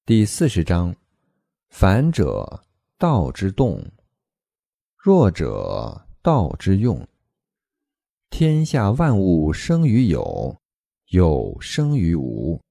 第40章：反者，道之动；弱者，道之用。天下万物生于有，有生于无。